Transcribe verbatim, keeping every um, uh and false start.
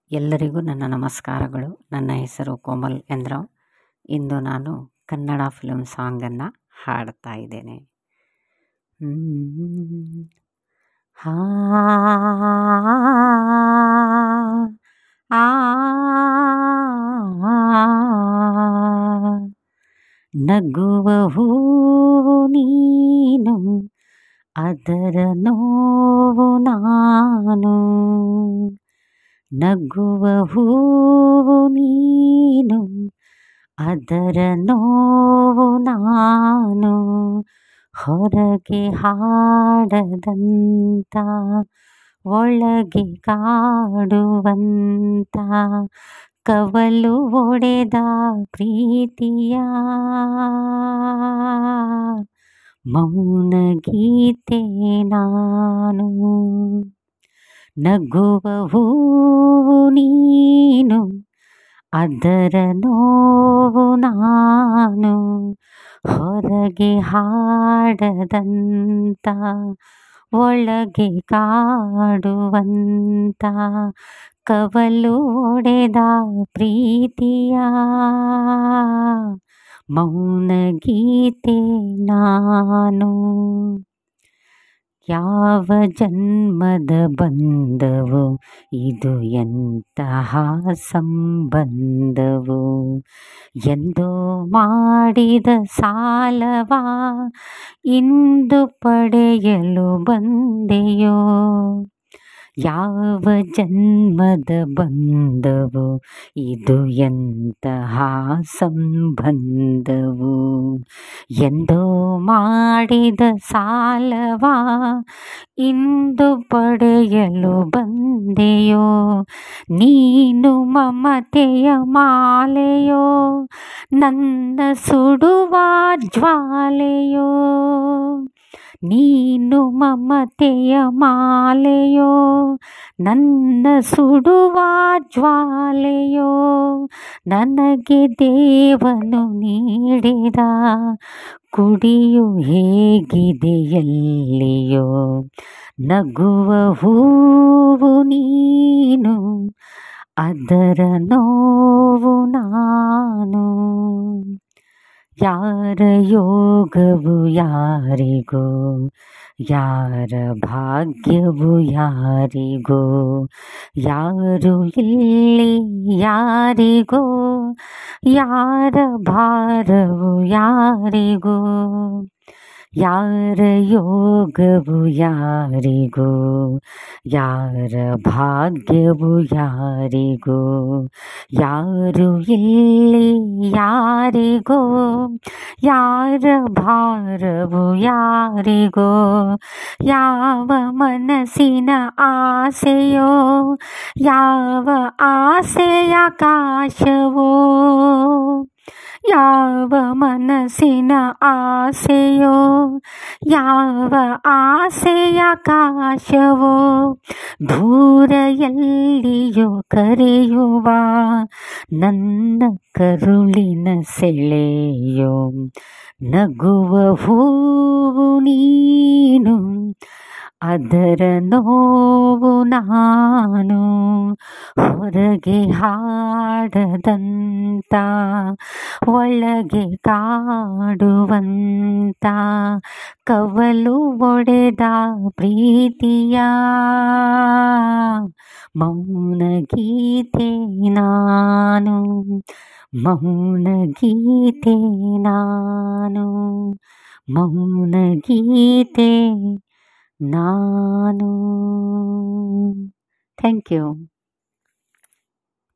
ಎಲ್ಲರಿಗೂ ನನ್ನ ನಮಸ್ಕಾರಗಳು. ನನ್ನ ಹೆಸರು ಕೋಮಲ್ ಎಂದ್ರಾವ್. ಇಂದು ನಾನು ಕನ್ನಡ ಫಿಲ್ಮ್ ಸಾಂಗನ್ನು ಹಾಡ್ತಾ ಇದ್ದೇನೆ. ಹ್ಮ್. ಹಾ ಆ ನಗುವ ಹೂವು ನೀನು, ಅದರ ನೋವು ನಾನು. ನಗುವ ಹೂವು ನೀನು, ಅದರ ನೋವು ನಾನು. ಹೊರಗೆ ಹಾಡದಂತ, ಒಳಗೆ ಕಾಡುವಂತ, ಕವಲು ಒಡೆದ ಪ್ರೀತಿಯ ಮೌನ ಗೀತೆ ನಾನು. ನಗುವ ಹೂವು ನೀನು, ಅದರ ನೋವು ನಾನು. ಹೊರಗೆ ಹಾಡದಂತ, ಒಳಗೆ ಕಾಡುವಂತ, ಕವಲು ಒಡೆದ ಪ್ರೀತಿಯ ಮೌನ ಗೀತೆ ನಾನು. ಯಾವ ಜನ್ಮದ ಬಂದವು ಇದು, ಎಂತಹ ಸಂಬಂಧವು. ಎಂದೋ ಮಾಡಿದ ಸಾಲವ ಇಂದು ಪಡೆಯಲು ಬಂದೆಯೋ. ಯಾವ ಜನ್ಮದ ಬಂದವು ಇದು, ಎಂತಹ ಸಂಬಂಧವು. ಎಂದೋ ಮಾಡಿದ ಸಾಲವ ಇಂದು ಪಡೆಯಲು ಬಂದೆಯೋ. ನೀನು ಮಮತೆಯ ಮಾಲೆಯೋ, ನನ್ನ ಸುಡುವ ಜ್ವಾಲೆಯೋ. ನೀನು ಮಮತೆಯ ಮಾಲೆಯೋ, ನನ್ನ ಸುಡುವ ಜ್ವಾಲೆಯೋ. ನನಗೆ ದೇವನು ನೀಡಿದ ಕುಡಿಯು ಹೇಗಿದೆ ಎಲ್ಲಿಯೋ. ನಗುವ ಹೂವು ನೀನು, ಅದರ ನೋವು ನಾನು. ಯಾರ ಯೋಗವು ಯಾರಿಗೋ, ಯಾರ ಭಾಗ್ಯವು ಯಾರಿಗೋ. ಯಾರು ಇಲ್ಲಿ ಯಾರಿಗೋ, ಯಾರ ಭಾರವು ಯಾರಿಗೋ. ಯಾರ ಯೋಗವು ಯಾರಿಗೋ, ಯಾರ ಭಾಗ್ಯವು ಯಾರಿಗೋ. ಯಾರು ಇಲ್ಲಿ ಯಾರಿಗೋ, ಯಾರ ಭಾರವು ಯಾರಿಗೋ. ಯಾವ ಮನಸ್ಸಿನ ಆಸೆಯೋ, ಯಾವ ಆಸೆಯ ಆಕಾಶವೋ. ಯಾವ ಮನಸ್ಸಿನ ಆಸೆಯೋ, ಯಾವ ಆಸೆಯ ಆಕಾಶವೋ. ದೂರ ಎಲ್ಲಿಯೋ ಕರೆಯುವ ನನ್ನ ಕರುಳಿನ ಸೆಳೆಯೋ. ನಗುವ ಹೂವು ನೀನು, ಅದರ ನೋವು ನಾನು. ಹೊರಗೆ ಹಾಡದಂತ, ಒಳಗೆ ಕಾಡುವಂತ, ಕವಲು ಒಡೆದ ಪ್ರೀತಿಯ ಮೌನ ಗೀತೆ ನಾನು. ಮೌನ ಗೀತೆ ನಾನು, ಮೌನ ಗೀತೆ ನಾನು. Thank you.